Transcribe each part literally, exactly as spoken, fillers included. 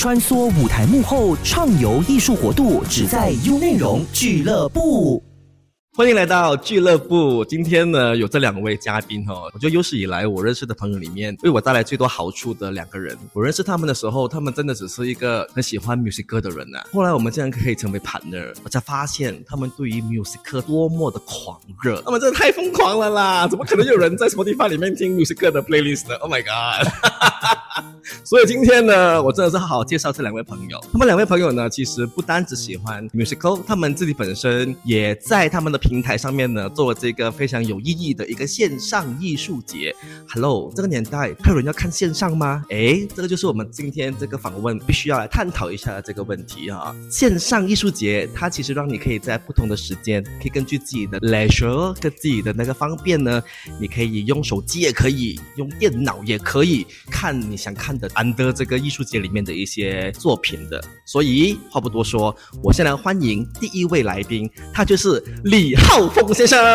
穿梭舞台幕后，畅游艺术国度，只在优内容俱乐部。 欢迎来到俱乐部。今天呢，有这两位嘉宾哦，我觉得有史以来我认识的朋友里面，为我带来最多好处的两个人。我认识他们的时候，他们真的只是一个很喜欢 music 歌的人啊。后来我们竟然可以成为 partner， 我才发现他们对于 music 歌多么的狂热。他们真的太疯狂了啦！怎么可能有人在 Spotify 里面听 music 歌的 playlist 呢 ？Oh my god！ 所以今天呢，我真的是好好介绍这两位朋友。他们两位朋友呢，其实不单只喜欢 musical， 他们自己本身也在他们的平台上面呢，做了这个非常有意义的一个线上艺术节。Hello， 这个年代还有人要看线上吗？诶，这个就是我们今天这个访问必须要来探讨一下的这个问题啊。线上艺术节，它其实让你可以在不同的时间，可以根据自己的 leisure 跟自己的那个方便呢，你可以用手机也可以，用电脑也可以看你想看的under这个艺术节里面的一些作品的。所以话不多说，我先来欢迎第一位来宾，他就是李浩峰先生。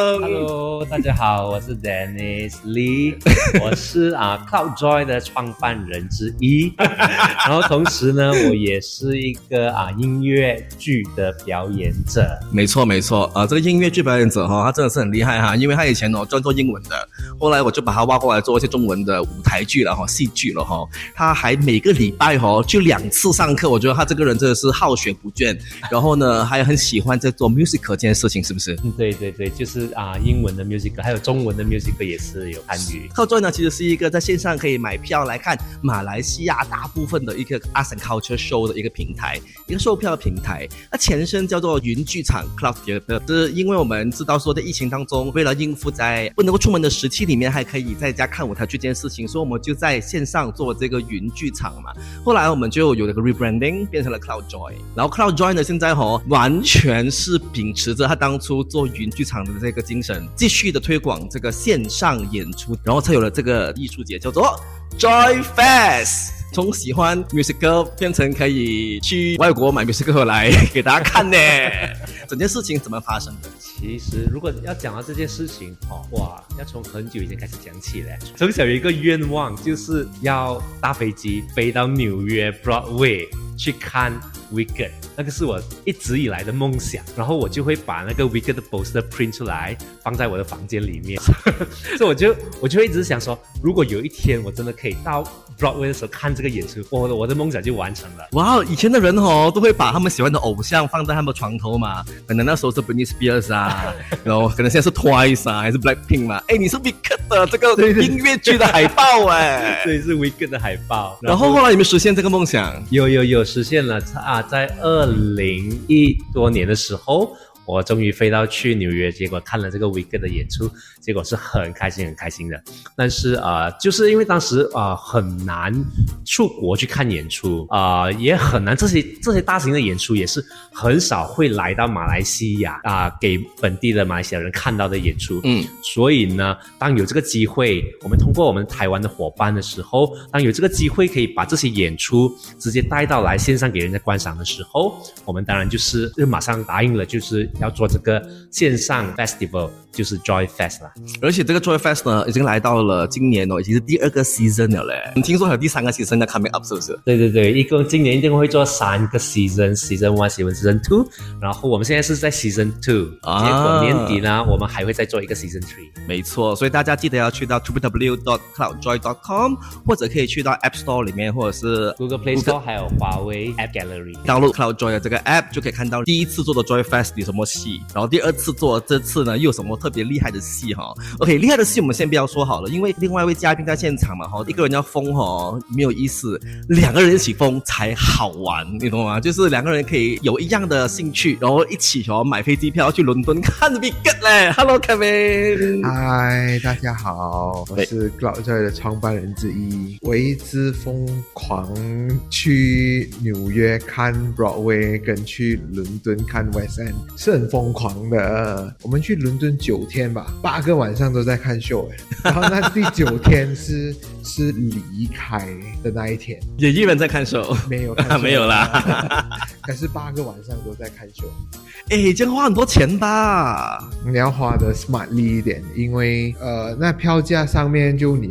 Hello， 大家好，我是 Dennis Lee， 我是啊 CloudJoy 的创办人之一，然后同时呢，我也是一个啊音乐剧的表演者。 没错没错，啊、呃，这个音乐剧表演者哈、哦，他真的是很厉害哈，因为他以前哦专做英文的，后来我就把他挖过来做一些中文的舞台剧了哈，戏剧了哈。他还每个礼拜哈就两次上课，我觉得他这个人真的是好学不倦。然后呢，还很喜欢在做 musical 这件事情，是不是？ 对对对，就是啊、呃，英文的 musical， 还有中文的 musical 也是有参与。 CloudJoy呢，其实是一个在线上可以买票来看马来西亚大部分的一个 Arts and Culture Show 的一个平台，一个售票的平台。那前身叫做云剧场 Cloud Theatre， 是因为我们知道说在疫情当中，为了应付在不能够出门的时期里面，还可以在家看舞台剧这件事情，所以我们就在线上做这个云剧场嘛。后来我们就有了个 rebranding， 变成了 CloudJoy。然后 CloudJoy 呢，现在哦完全是秉持着他当初做云剧场的这个精神，继续的推广这个线上演出，然后才有了这个艺术节叫做 Joy Fest。从喜欢 musical 变成可以去外国买 musical 来给大家看呢。整件事情怎么发生的？ 其实如果要讲到这件事情哦，哇，要从很久以前开始讲起嘞。从小有一个愿望，就是要搭飞机飞到纽约 Broadway 去看 Wicked， 那个是我一直以来的梦想。然后我就会把那个 Wicked 的 poster print 出来，放在我的房间里面。所以我就我就会一直想说，如果有一天我真的可以到 Broadway 的时候看这个演出，我的我的梦想就完成了。 哇，以前的人哦都会把他们喜欢的偶像放在他们的床头嘛，可能那时候是 Britney Spears 啊，然后可能现在是 Twice 啊，还是 Blackpink 嘛。哎，你是 Wicked 的这个音乐剧的海报哎， 对，是 Wicked 的海报。 然后后来有没有实现这个梦想？ 有有有实现了啊，在二零一多年的时候，我终于飞到去纽约，结果看了这个 Wicked 的演出，结果是很开心很开心的。但是呃，就是因为当时呃很难出国去看演出，呃也很难，这些这些大型的演出也是很少会来到马来西亚啊、呃，给本地的马来西亚人看到的演出。嗯，所以呢，当有这个机会，我们通过我们台湾的伙伴的时候，当有这个机会可以把这些演出直接带到来线上给人家观赏的时候，我们当然就是就马上答应了，就是要做这个线上 festival， 就是 Joy Fest 啦。 而且这个 Joy Fest 呢，已经来到了今年哦，已经是第二个 season 了嘞。你听说还有第三个 season 要 coming up 是不是？ 对对对，一共今年一定会做三个 season，season one、season two， 然后我们现在是在 season two，、啊、结果年底呢，我们还会再做一个 season three。 没错，所以大家记得要去到 double-u double-u double-u dot cloud joy dot com， 或者可以去到 App Store 里面，或者是 Google Play Store， 还有华为 App Gallery download CloudJoy 的这个 App， 就可以看到第一次做的 Joy Fest 有什么戏，然后第二次做这次呢又有什么特别厉害的戏哈。OK， 厉害的戏我们先不要说好了，因为另外一位嘉宾在现场嘛哈，一个人要疯哈没有意思，两个人一起疯才好玩，你懂吗？就是两个人可以有一样的兴趣，然后一起哦买飞机票去伦敦看 Wicked 嘞。Hello Kevin， 嗨，大家好，我是 CloudJoy 的创办人之一，我一直疯狂去纽约看 Broadway 跟去伦敦看 West End， 是很疯狂的。我们去伦敦九天吧，八个晚上都在看秀，然后那第九天是是离开的那一天， 也一人在看秀， 没有看秀没有啦， 可是八个晚上都在看秀。 哎，这样花很多钱吧？ 你要花的 smartly 一点，因为呃，那票价上面就你要出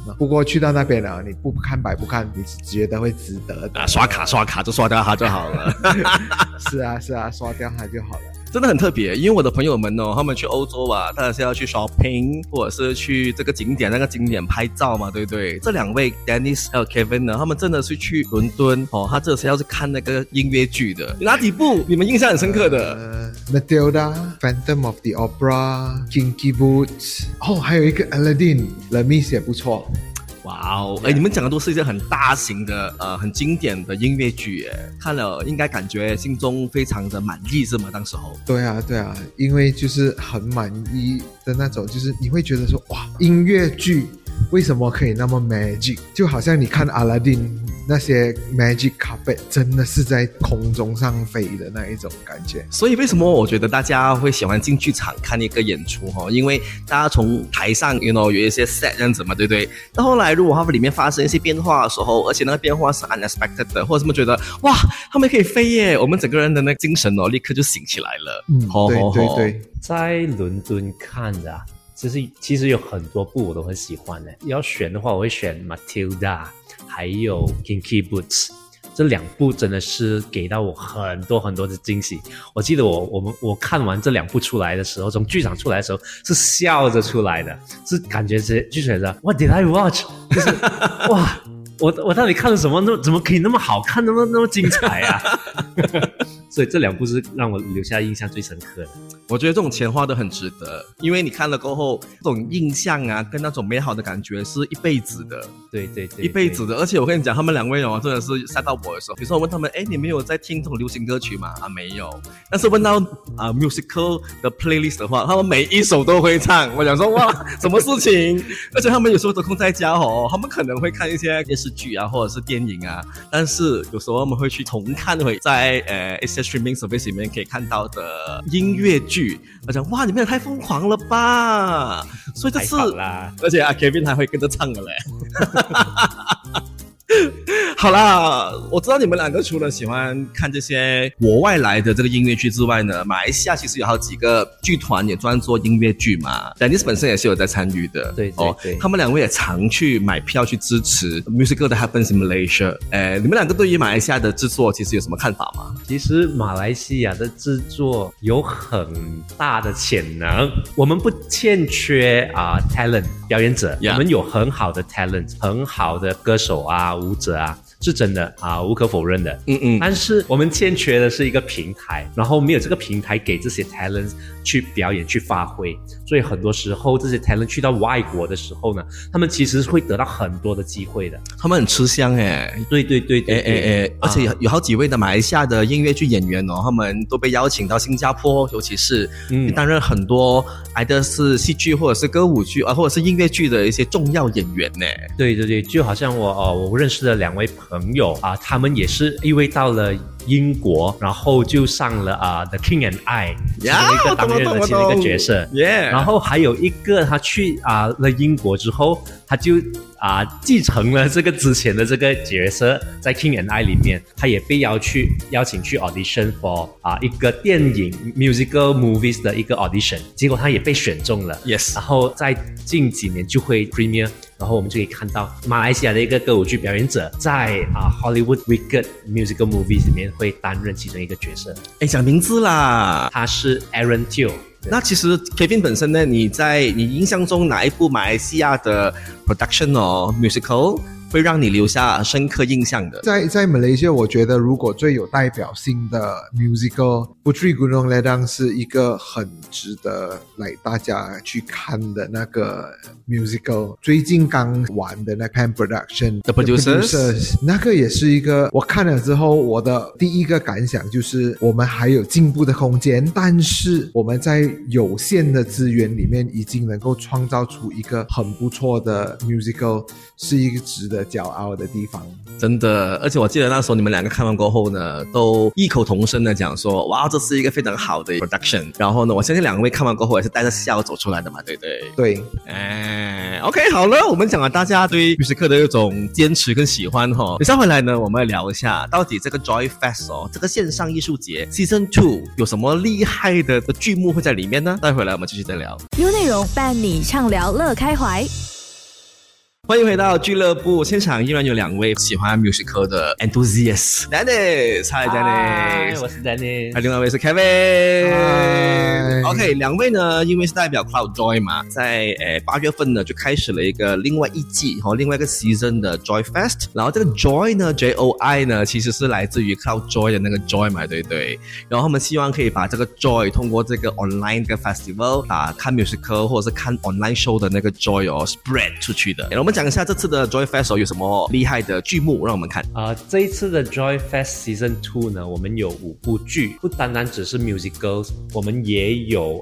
嘛。不过去到那边了，你不看白不看，你是觉得会值得的啊，刷卡刷卡就刷掉它就好了。 是啊是啊，刷掉它就好了。 真的很特别，因为我的朋友们哦，他们去欧洲啊，当然是要去 shopping， 或者是去这个景点那个景点拍照嘛，对不对？这两位 Dennis 还有 Kevin 呢，他们真的是去伦敦哦，他这是要是看那个音乐剧的。哪几部你们印象很深刻的？ 呃 Matilda、Phantom of the Opera、Kinky Boots， 哦，还有一个 Aladdin、Les Mis 也不错。 哇哦，哎，你们讲的都是一些很大型的、呃，很经典的音乐剧，耶，看了应该感觉心中非常的满意，是吗？当时候。 对啊，对啊，因为就是很满意的那种，就是你会觉得说，哇，音乐剧为什么可以那么 magic？ 就好像你看阿拉丁那些 magic carpet， 真的是在空中上飞的那一种感觉。 所以为什么我觉得大家会喜欢进剧场看一个演出哈？因为大家从台上 you know 有一些 set 这样子嘛，对不对？到后来如果他们里面发生一些变化的时候，而且那个变化是 unexpected 的，或者什么觉得哇，他们可以飞耶，我们整个人的那个精神哦，立刻就醒起来了。 嗯， 吼对吼吼对对。 在伦敦看的啊，其实其实有很多部我都很喜欢的。要选的话，我会选 Matilda， 还有 Kinky Boots。这两部真的是给到我很多很多的惊喜。我记得我我们我看完这两部出来的时候，从剧场出来的时候是笑着出来的，是感觉是就觉得 What did I watch？ 就是哇，我我到底看了什么？那怎么可以那么好看，那么那么精彩啊？所以这两部是让我留下印象最深刻的。 我觉得这种钱花得很值得，因为你看了过后，这种印象啊，跟那种美好的感觉是一辈子的。 对对 对, 对， 一辈子的。而且我跟你讲，他们两位哦，真的是吓到我的时候，比如说我问他们，哎，你们有在听这种流行歌曲吗？啊，没有。但是问到啊、呃、musical 的 playlist 的话，他们每一首都会唱。我想说，哇，什么事情？而且他们有时候得空在家哦，他们可能会看一些电视剧啊，或者是电影啊，但是有时候他们会去重看回在呃一些 streaming service 里面可以看到的音乐剧。我讲哇，你们也太疯狂了吧！所以这次，而且啊 ，Kevin 还会跟着唱的嘞。好啦，我知道你们两个除了喜欢看这些国外来的这个音乐剧之外呢，马来西亚其实有好几个剧团也专做音乐剧嘛。Dennis 本身也是有在参与的， 对对对、 哦，他们两位也常去买票去支持 musical that happens in Malaysia。哎，你们两个对于马来西亚的制作其实有什么看法吗？ 其实马来西亚的制作有很大的潜能，我们不欠缺啊、呃、talent 表演者， yeah. 我们有很好的 talent， 很好的歌手啊、舞者啊。是真的啊，无可否认的。 嗯嗯， 但是我们欠缺的是一个平台，然后没有这个平台给这些 talent 去表演、去发挥，所以很多时候这些 talent 去到外国的时候呢，他们其实会得到很多的机会的。 他们很吃香哎， 对对对对， 哎哎哎，而且有有好几位的马来西亚的音乐剧演员哦，他们都被邀请到新加坡，尤其是嗯担任很多either的是戏剧或者是歌舞剧啊，或者是音乐剧的一些重要演员呢。 对对对，就好像我哦，我认识的两位朋友啊，他们也是因为到了英国，然后就上了啊、uh, The King and I 其中一个当任的其中一个角色， yeah. 然后还有一个他去啊、uh, 了英国之后，他就啊、uh, 继承了这个之前的这个角色，在 King and I 里面，他也被邀去邀请去 audition for 啊、uh, 一个电影 musical movies 的一个 audition， 结果他也被选中了 ，yes， 然后在近几年就会 premiere。然后我们就可以看到马来西亚的一个歌舞剧表演者在啊、uh, Hollywood Wicked Musical Movies 里面会担任其中一个角色。 哎，讲名字啦， 他是 Aaron Teo。 那其实 Kevin 本身呢，你在你印象中哪一部马来西亚的 production 哦 musical会让你留下深刻印象的？ 在在马来西亚，我觉得如果最有代表性的 musical Puteri Gunung Ledang 是一个很值得来大家去看的那个 musical。最近刚完的那 Pan Production The Producers， The Producers 那个也是一个，我看了之后，我的第一个感想就是我们还有进步的空间，但是我们在有限的资源里面已经能够创造出一个很不错的 musical， 是一个值得骄傲的地方。 真的，而且我记得那时候你们两个看完过后呢，都异口同声的讲说，哇，这是一个非常好的 production。然后呢，我相信两位看完过后也是带着笑走出来的嘛，对不对？ 对， 哎 ，OK， 好了，我们讲了大家对musical的一种坚持跟喜欢哈、哦。等下回来呢，我们来聊一下，到底这个 Joy Fest 哦，这个线上艺术节 Season 二有什么厉害的的剧目会在里面呢？待会来我们继续再聊。 优内容伴你畅聊乐开怀。 欢迎回到俱乐部现场，依然有两位喜欢 musical 的 enthusiast。Dennis，Hi Dennis， 我是 Dennis， 还有另外一位是 Kevin。 Hi OK， 两位呢，因为是代表 Cloud Joy 嘛，在呃八月份呢就开始了一个另外一季和、哦、另外一个 season 的 Joy Fest。然后这个 Joy 呢 ，J O I 呢，其实是来自于 Cloud Joy 的那个 Joy 嘛，对不对？然后他们希望可以把这个 Joy 通过这个 online 的 festival 啊，看 musical 或者是看 online show 的那个 Joy 哦 spread 出去的。然后我们讲一下这次的 Joy Fest 有什么厉害的剧目，让我们看。 啊、呃，这一次的 Joy Fest Season Two 呢，我们有五部剧，不单单只是 musicals， 我们也有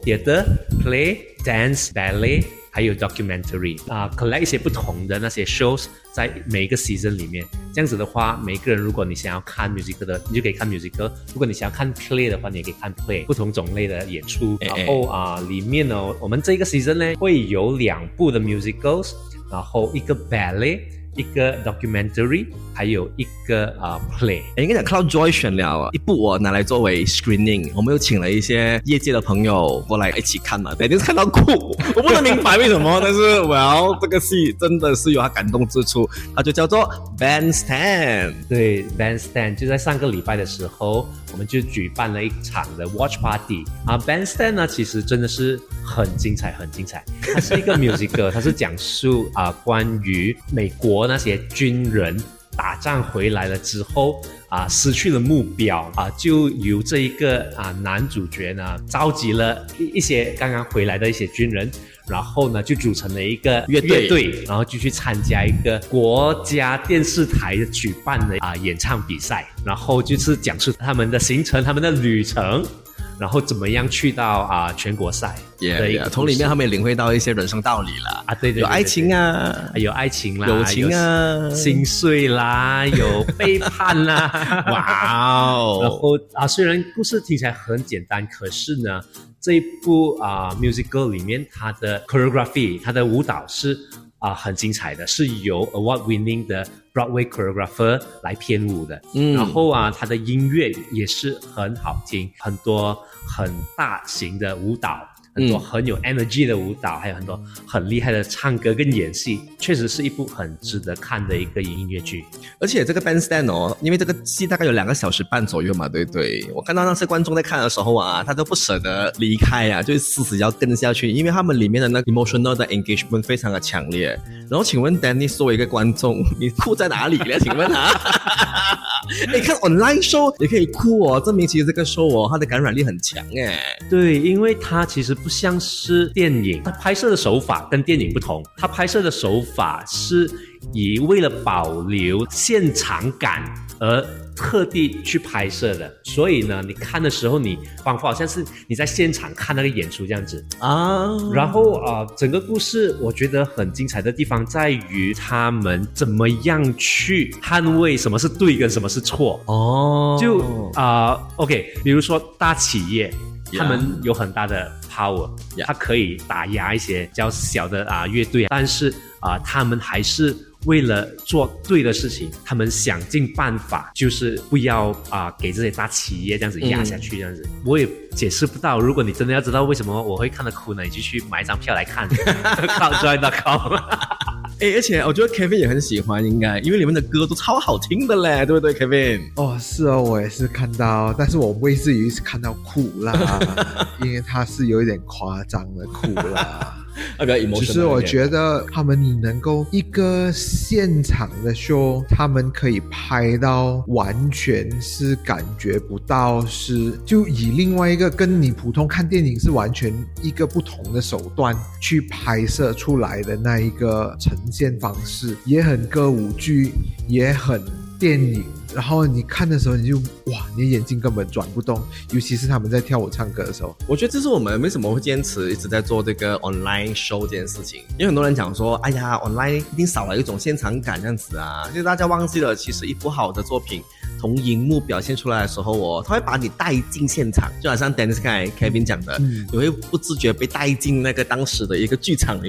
theatre、play、dance、ballet， 还有 documentary 啊、呃、，collect 一些不同的那些 shows 在每一个 season 里面。这样子的话，每个人如果你想要看 musical 的，你就可以看 musical； 如果你想要看 play 的话，你也可以看 play， 不同种类的演出。 欸欸然后啊、呃，里面呢，我们这个 season 呢会有两部的 musicals。然后一个 ballet， 一个 documentary， 还有一个啊、uh, play。 应该讲 Cloud Joy 选了一部我拿来作为 screening， 我们又请了一些业界的朋友过来一起看嘛，对，就是看到哭，我不能明白为什么，但是 well 这个戏真的是有它感动之处，它就叫做 Bandstand。 对 ，Bandstand 就在上个礼拜的时候，我们就举办了一场的 watch party 啊。Bandstand 呢，其实真的是很精彩，很精彩。它是一个 musical， 它是讲述啊关于美国那些军人打仗回来了之后啊，失去了目标啊，就由这一个啊男主角呢，召集了一一些刚刚回来的一些军人。然后呢，就组成了一个乐队， 乐队然后就去参加一个国家电视台举办的啊演唱比赛，然后就是讲述他们的行程、他们的旅程，然后怎么样去到啊全国赛。 Yeah, yeah, 从里面他们也领会到一些人生道理啦啊，对 对, 对, 对, 对， 有爱情啊， 有爱情啦， 友情啊， 心碎啦，有背叛啦， 哇哦！ 然后啊，虽然故事听起来很简单，可是呢，这一部啊 musical 里面它的 choreography， 它的舞蹈是啊很精彩的，是由 award winning 的 Broadway choreographer 来编舞的。嗯，然后啊，它的音乐也是很好听，很多很大型的舞蹈。很多很有 energy 的舞蹈，还有很多很厉害的唱歌跟演戏，确实是一部很值得看的一个音乐剧。 而且这个 Bandstand 哦，因为这个戏大概有两个小时半左右嘛，对不对？我看到那些观众在看的时候啊，他都不舍得离开啊，就是死死要跟下去，因为他们里面的那个 emotional 的 engagement 非常的强烈。然后请问 Dennis 作为一个观众，你哭在哪里呢？请问啊？你看 online show 也可以哭哦，证明其实这个 show 哦，它的感染力很强诶。 对，因为它其实不像是电影，它拍摄的手法跟电影不同，它拍摄的手法是以为了保留现场感而特地去拍摄的，所以呢，你看的时候你仿佛好像是你在现场看那个演出这样子啊。然后啊、呃，整个故事我觉得很精彩的地方在于他们怎么样去捍卫什么是对跟什么是错哦。就啊、呃、，OK， 比如说大企业。他们有很大的 power， yeah. 他可以打压一些较小的啊乐队，但是啊，他们还是为了做对的事情，他们想尽办法，就是不要啊给这些大企业这样子压下去，这样子、嗯、我也解释不到。如果你真的要知道为什么我会看得哭呢，你就去买一张票来看 cloud joy dot com 哎，而且我觉得 Kevin 也很喜欢，应该因为里面的歌都超好听的嘞，对不对 ，Kevin？ 哦，是哦，我也是看到，但是我不会至于是看到哭啦，因为它是有一点夸张的哭啦。 那个 emotional， 只是我觉得他们能够一个现场的 show， 他们可以拍到完全是感觉不到是就以另外一个跟你普通看电影是完全一个不同的手段去拍摄出来的那一个呈现方式，也很歌舞剧，也很电影。然后你看的时候你就哇，你的眼睛根本转不动，尤其是他们在跳舞唱歌的时候。 我觉得这是我们为什么会坚持一直在做这个 online show 这件事情，因为很多人讲说哎呀 online 一定少了一种现场感这样子啊，就是大家忘记了其实一部好的作品从荧幕表现出来的时候哦，它会把你带进现场，就好像 Dennis 刚才 Kevin 讲的、嗯、你会不自觉被带进那个当时的一个剧场里面，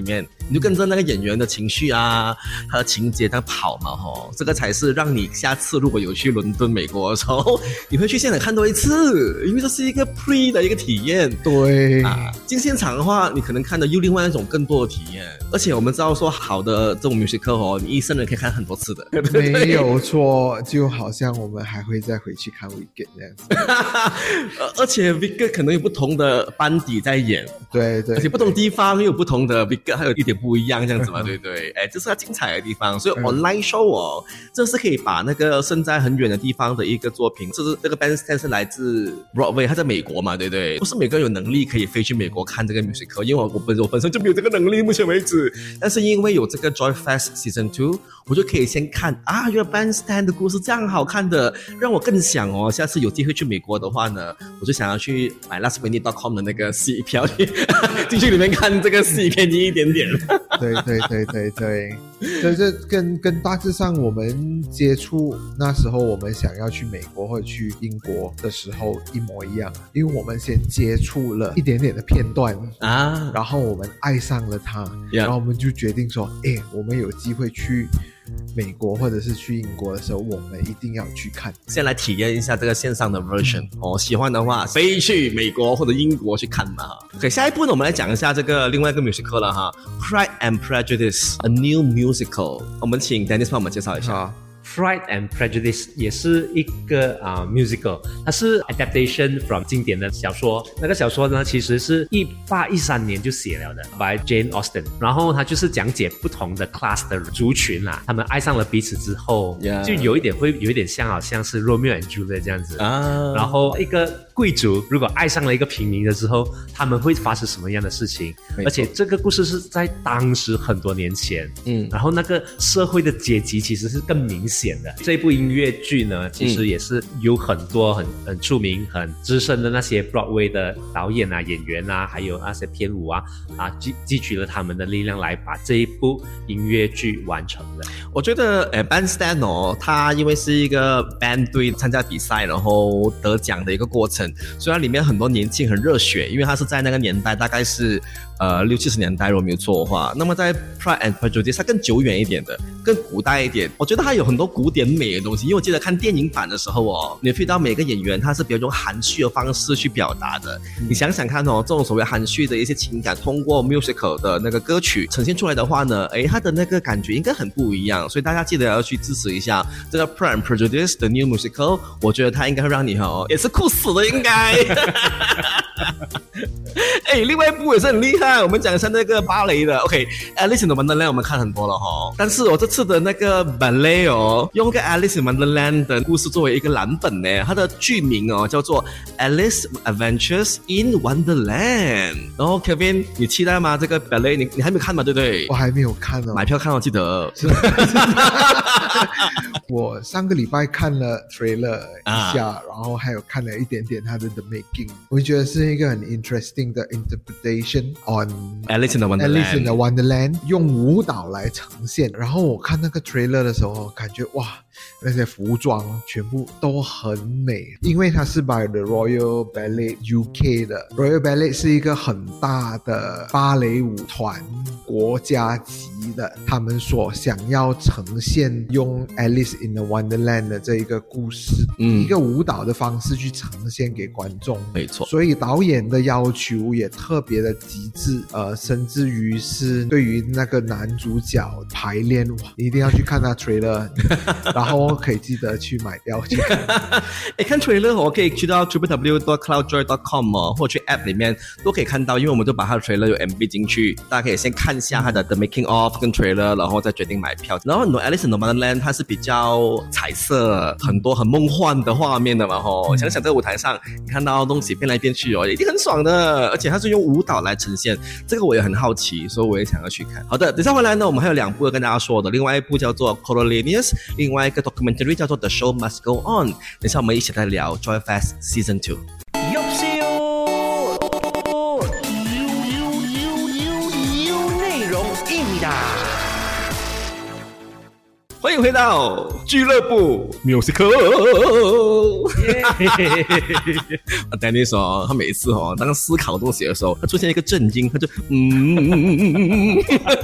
你就跟着那个演员的情绪啊，他的情节在跑嘛吼，这个才是让你下次如果有去伦敦美国的时候，你会去现场看多一次，因为这是一个 pre 的一个体验。 对啊，进现场的话，你可能看到又另外一种更多的体验。而且我们知道说，好的这种 musical 哦，你一生人可以看很多次的，对不对？ 没有错，就好像我们还会再回去看 Wicked 这样子。 而且 Wicked 可能有不同的班底在演， 对对， 而且不同地方又有不同的 Wicked， 还有一点不一样这样子嘛，对不对？哎，这是它精彩的地方。所以 online show 哦，这是可以把那个身在很远的地方的一个作品，这是这个 bandstand 是来自 Broadway， 它在美国嘛，对不对？不是每个人有能力可以飞去美国看这个 musical， 因为我我本我本身就没有这个能力，目前为止。但是因为有这个 Joy Fest Season Two， 我就可以先看啊，原来 bandstand 的故事这样好看的，让我更想哦，下次有机会去美国的话呢，我就想要去买 last minute dot com 的那个戏票去进去里面看这个戏，便宜一点点。 对对对对对，所以这跟跟大致上我们接触那时候我们想要去美国或者去英国的时候一模一样，因为我们先接触了一点点的片段啊，然后我们爱上了它， yeah. 然后我们就决定说，哎，我们有机会去美国或者是去英国的时候，我们一定要去看， 先来体验一下这个线上的 version、嗯、哦，喜欢的话飞去美国或者英国去看嘛。OK， 下一步呢，我们来讲一下这个另外一个 musical 了哈 ，Pride and Prejudice A New Musical。我们请 Dennis 帮我们介绍一下。 Pride and Prejudice 也是一个啊、uh, musical， 它是 adaptation from 经典的小说。那个小说呢，其实是一八一三年就写了的 ，by Jane Austen。然后它就是讲解不同的 class 的族群啊，他们爱上了彼此之后， yeah. 就有一点会有一点像，好像是 Romeo and Juliet 这样子啊。然后一个贵族如果爱上了一个平民的之后，他们会发生什么样的事情？而且这个故事是在当时很多年前，嗯，然后那个社会的阶级其实是更明显。这一部音乐剧呢，其实也是有很多很很出名、很资深的那些 Broadway 的导演啊、演员啊，还有那些编舞啊啊，积积聚了他们的力量来把这一部音乐剧完成的。 我觉得呃 bandstand 哦，它因为是一个 band 队参加比赛然后得奖的一个过程，所以它里面很多年轻很热血，因为它是在那个年代，大概是呃六七十年代，如果没有错的话。那么在 Pride and Prejudice 它更久远一点的，更古代一点。我觉得它有很多古典美的东西，因为我记得看电影版的时候哦，你会到每个演员他是比较用含蓄的方式去表达的。嗯、你想想看哦，这种所谓含蓄的一些情感，通过 musical 的那个歌曲呈现出来的话呢，诶，它的那个感觉应该很不一样。所以大家记得要去支持一下这个 Pride and Prejudice 的 New Musical， 我觉得它应该会让你哦，也是酷死了应该。哎，另外一部也是很厉害，我们讲一下那个芭蕾的 OK，Alice in Wonderland 我们看很多了哈，但是我这次的那个 ballet 哦，用个 Alice in Wonderland 的故事作为一个蓝本呢，它的剧名哦叫做 Alice Adventures in Wonderland。然后 Kevin， 你期待吗？这个 ballet 你你还没有看吗？对不对？ 我还没有看哦， 买票看哦，记得。 我上个礼拜看了 trailer 一下、啊、然后还有看了一点点它的 The Making， 我觉得是一个很 interesting 的 interpretation on Alice in the Wonderland Alice in the Wonderland 用舞蹈来呈现。然后我看那个 trailer 的时候感觉哇，那些服装全部都很美，因为它是 by the Royal Ballet U K 的。 Royal Ballet 是一个很大的芭蕾舞团，国家级的，他们所想要呈现用 Alice in the Wonderland 的这一个故事、嗯、一个舞蹈的方式去呈现给观众， 没错。 所以导演的要求也特别的极致，呃，甚至于是对于那个男主角排练，哇，你一定要去看他 trailer 然后可以记得去买票去看。 诶，看 trailer 我可以去到 double-u double-u double-u dot cloud joy dot com 哦，或者去 app 里面都可以看到，因为我们都把它的 trailer 有 M V 进去，大家可以先看一下它的 the making of 跟 trailer， 然后再决定买票。然后很多 Alice in the Wonderland 它是比较彩色，很多很梦幻的画面的嘛吼、嗯、想想这个舞台上你看到东西变来变去哦，一定很爽的，而且它是用舞蹈来呈现，这个我也很好奇，所以我也想要去看。好的，等下回来呢，我们还有两部要跟大家说的，另外一部叫做 Coriolanus， 另外一个 documentary 叫做 The Show Must Go On。 等下我们一起来聊 Joy Fest Season Two。欢迎回到俱乐部 Musical。 Dennis 哦，他每次哦，当思考东西的时候，他出现一个震惊，他就嗯。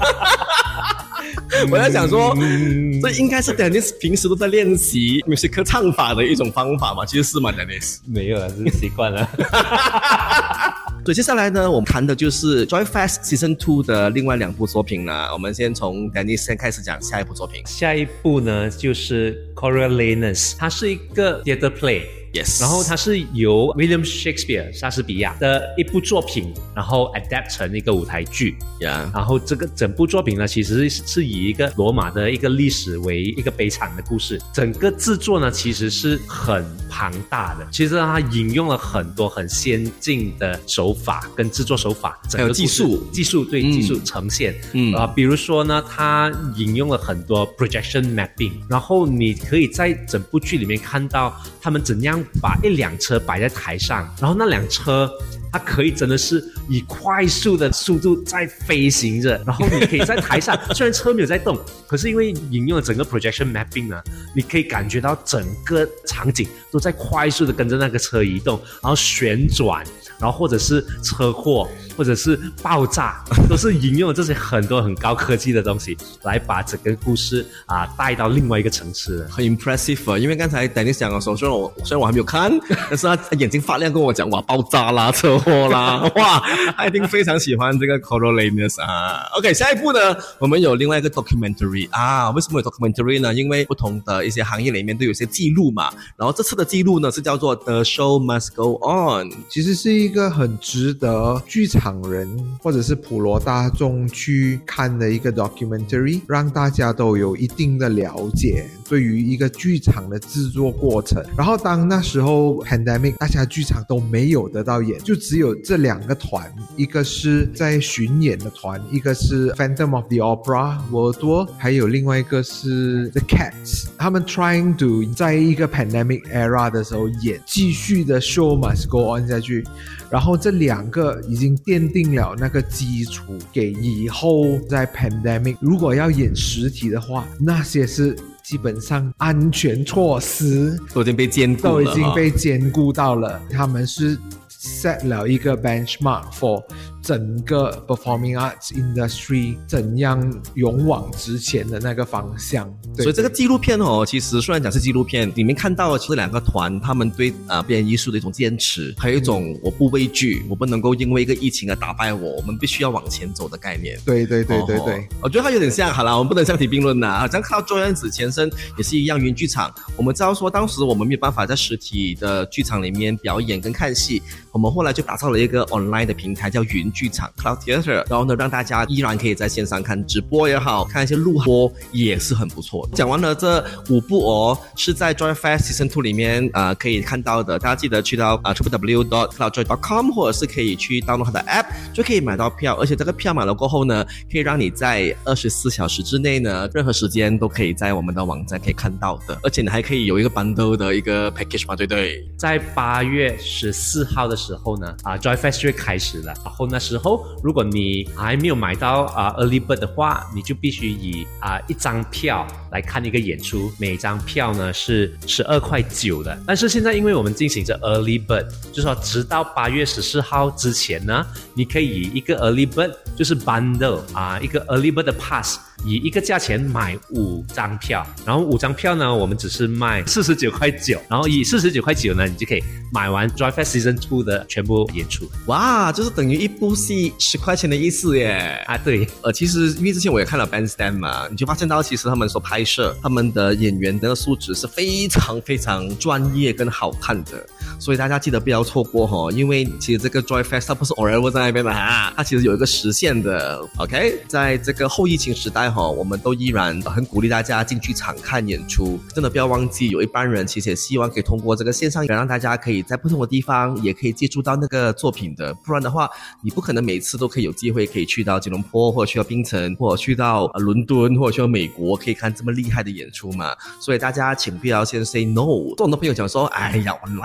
我在想说，这应该是 Dennis 平时都在练习 music 唱法的一种方法嘛？其实是吗 ，Dennis？ 没有了，是习惯了。 所以接下来呢，我们谈的就是 Joy Fest Season Two 的另外两部作品啦。我们先从 Dennis 先开始讲下一部作品。 下一部呢，就是 Coriolanus， 它是一个 theatre play。Yes. 然后它是由 William Shakespeare 莎士比亚的一部作品，然后 adapt 成一个舞台剧。 Yeah. 然后这个整部作品呢，其实是以一个罗马的一个历史为一个悲惨的故事。整个制作呢，其实是很庞大的。其实它引用了很多很先进的手法跟制作手法， 还有技术， 技术对、嗯、技术呈现。嗯啊、呃，比如说呢，它引用了很多 projection mapping， 然后你可以在整部剧里面看到他们怎样把一辆车摆在台上，然后那辆车它可以真的是以快速的速度在飞行着，然后你可以在台上虽然车没有在动，可是因为引用了整个 projection mapping 呢，你可以感觉到整个场景都在快速的跟着那个车移动，然后旋转，然后或者是车祸或者是爆炸，都是引用了这些很多很高科技的东西来把整个故事啊带到另外一个层次。 很 impressive 啊，因为刚才 Dennis 讲的时候，虽然我虽然我还没有看，但是他眼睛发亮跟我讲，哇，爆炸啦，车祸啦，哇，他一定非常喜欢这个 Coriolanus 啊。OK， 下一步呢，我们有另外一个 documentary 啊。为什么有 documentary 呢？因为不同的一些行业里面都有一些记录嘛。然后这次的记录呢是叫做 The Show Must Go On， 其实是一个很值得剧场人或者是普罗大众去看的一个 documentary， 让大家都有一定的了解对于一个剧场的制作过程。然后当那时候 pandemic 大家剧场都没有得到演，就只有这两个团，一个是在巡演的团，一个是 Phantom of the Opera World Tour， 还有另外一个是 The Cats。 他们 trying to 在一个 pandemic era 的时候演，继续的 show must go on 下去。然后这两个已经奠定了那个基础，给以后在 pandemic 如果要演实体的话，那些是基本上安全措施都已经被兼顾了， 都已经被兼顾到了。他们是 set 了一个 benchmark for 整个 performing arts industry 怎样勇往直前的那个方向。 所以这个纪录片哦，其实虽然讲是纪录片，里面看到的其实两个团他们对呃表演艺术的一种坚持，还有一种我不畏惧，我不能够因为一个疫情而打败我，我们必须要往前走的概念。 对对对对对、哦、 我觉得它有点像，好啦，我们不能相提并论啦。好像看到周燕子前身也是一样，云剧场，我们知道说当时我们没有办法在实体的剧场里面表演跟看戏，我们后来就打造了一个 online 的平台叫云剧场 Cloud Theatre， 然后呢让大家依然可以在线上看直播也好，看一些录播也是很不错的。讲完了这五部哦，是在 Joy Fest Season Two 里面呃可以看到的，大家记得去到呃 double-u double-u double-u dot cloud joy dot com 或者是可以去 download 它的 app 就可以买到票，而且这个票买了过后呢，可以让你在二十四小时之内呢，任何时间都可以在我们的网站可以看到的，而且你还可以有一个 bundle 的一个 package 嘛，对不对？ 在八月十四号的时候呢，啊 Joy Fest 就会开始了，然后那时候如果你还没有买到啊 early bird 的话，你就必须以啊一张票来看一个演出，每张票呢是十二块九的。但是现在因为我们进行着 early bird， 就是说直到八月十四号之前呢，你可以以一个 early bird 就是 bundle 啊一个 early bird 的 pass，以一个价钱买五张票，然后五张票呢我们只是卖四十九块九，然后以四十九块九呢你就可以买完 Joy Fest Season Two 的全部演出。 哇，就是等于一部戏十块钱的意思耶。 啊对， 呃其实因为之前我也看了 Bandstand 嘛，你就发现到其实他们所拍摄他们的演员的素质是非常非常专业跟好看的，所以大家记得不要错过齁，因为其实这个 Joy Fest 它不是偶然在那边的哈，它其实有一个实现的。 OK， 在这个后疫情时代齁，我们都依然很鼓励大家进剧场看演出，真的不要忘记有一班人其实也希望可以通过这个线上让大家可以在不同的地方也可以接触到那个作品的，不然的话你不可能每次都可以有机会可以去到吉隆坡或者去到槟城或者去到伦敦或者去到美国可以看这么厉害的演出嘛，所以大家请不要先 say no。 跟我的朋友讲说，哎呀 online 我不要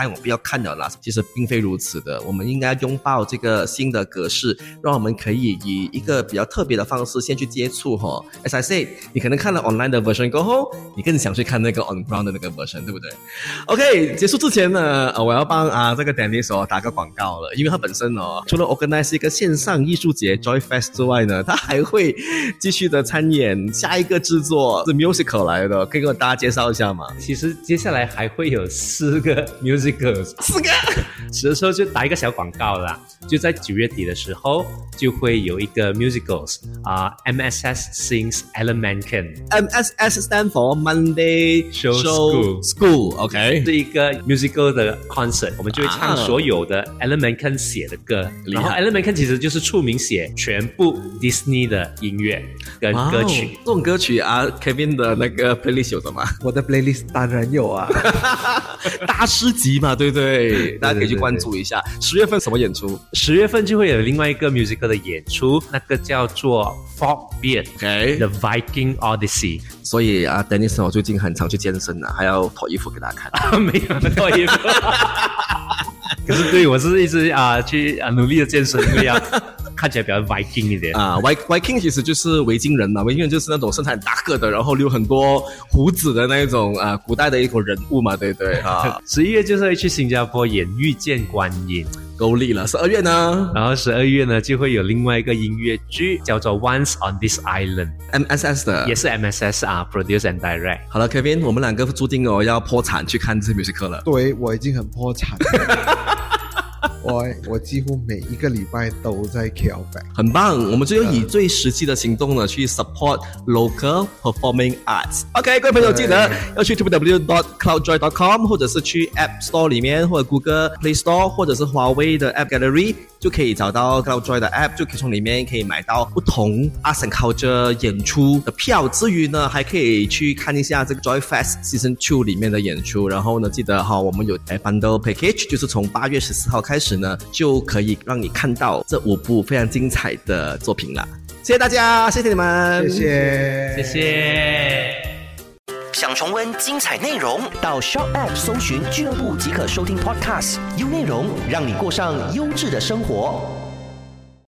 看了啦，其实并非如此的。我们应该拥抱这个新的格式，让我们可以以一个比较特别的方式先去接触哈。As I said， 你可能看了 online 的 version 过后，你更想去看那个 on ground 的那个 version， 对不对 ？OK， 结束之前呢，呃、我要帮啊这个 Dennis 哦打个广告了，因为他本身哦，除了 organize 一个线上艺术节 Joy Fest 之外呢，他还会继续的参演下一个制作是 musical 来的，可以给大家介绍一下吗？ 其实接下来还会有四个 musicals， 四个， 此时候就打一个小广告啦，就在九月底的时候就会有一个 musicals 啊、呃、，M S S Sings Elemenken。M S S stand for Monday Show School School，OK， 是一个 musical 的 concert， 我们就会唱所有的 Elemenken 写的歌，然后 Elemenken 其实就是出名写全部 Disney 的音乐跟歌曲。 这种歌曲啊 ，Kevin 的那个 playlist 有什么？ 我的 playlist 当然有啊， 大师级嘛，对不对？大家可以去关注一下。十月份什么演出？ 十月份就会有另外一个 musical 的演出，那个叫做 Folkbeard，OK， The Viking Odyssey。 所以啊 ，Dennis 我最近很常去健身啊，还要脱衣服给大家看。 啊、没有脱衣服。可是对我是一直啊去啊努力的健身，因为要看起来比较 Viking 一点啊。Viking 其实就是维京人嘛，维京人就是那种身材很大个的，然后留很多胡子的那一种啊，古代的一个人物嘛，对不对啊？ 十一月就是会去新加坡演《遇见观音》。 够力了。十二月呢？ 然后十二月呢就会有另外一个音乐剧叫做 Once on This Island，M S S 的， 也是 M S S 啊 ，Produce and Direct。 好了 ，Kevin， 我们两个注定哦要破产去看这 musical 了。 对，我已经很破产了。我我几乎每一个礼拜都在 K L back， 很棒。我们就要以最实际的行动呢去 support local performing arts。OK， 各位朋友记得要去 w w w dot cloud joy dot com 或者是去 App Store 里面，或者 Google Play Store 或者是华为的 App Gallery， 就可以找到 Cloud Joy 的 App， 就可以从里面可以买到不同 Arts and Culture 演出的票。至于呢，还可以去看一下这个 Joy Fest Season 二里面的演出。然后呢，记得哈，我们有 Bundle Package， 就是从八月十四号开始呢，就可以让你看到这五部非常精彩的作品啦。谢谢大家，谢谢你们， 谢谢， 谢谢。 想重温精彩内容，到 Shop App 搜寻俱乐部即可收听 Podcast， 优内容让你过上优质的生活。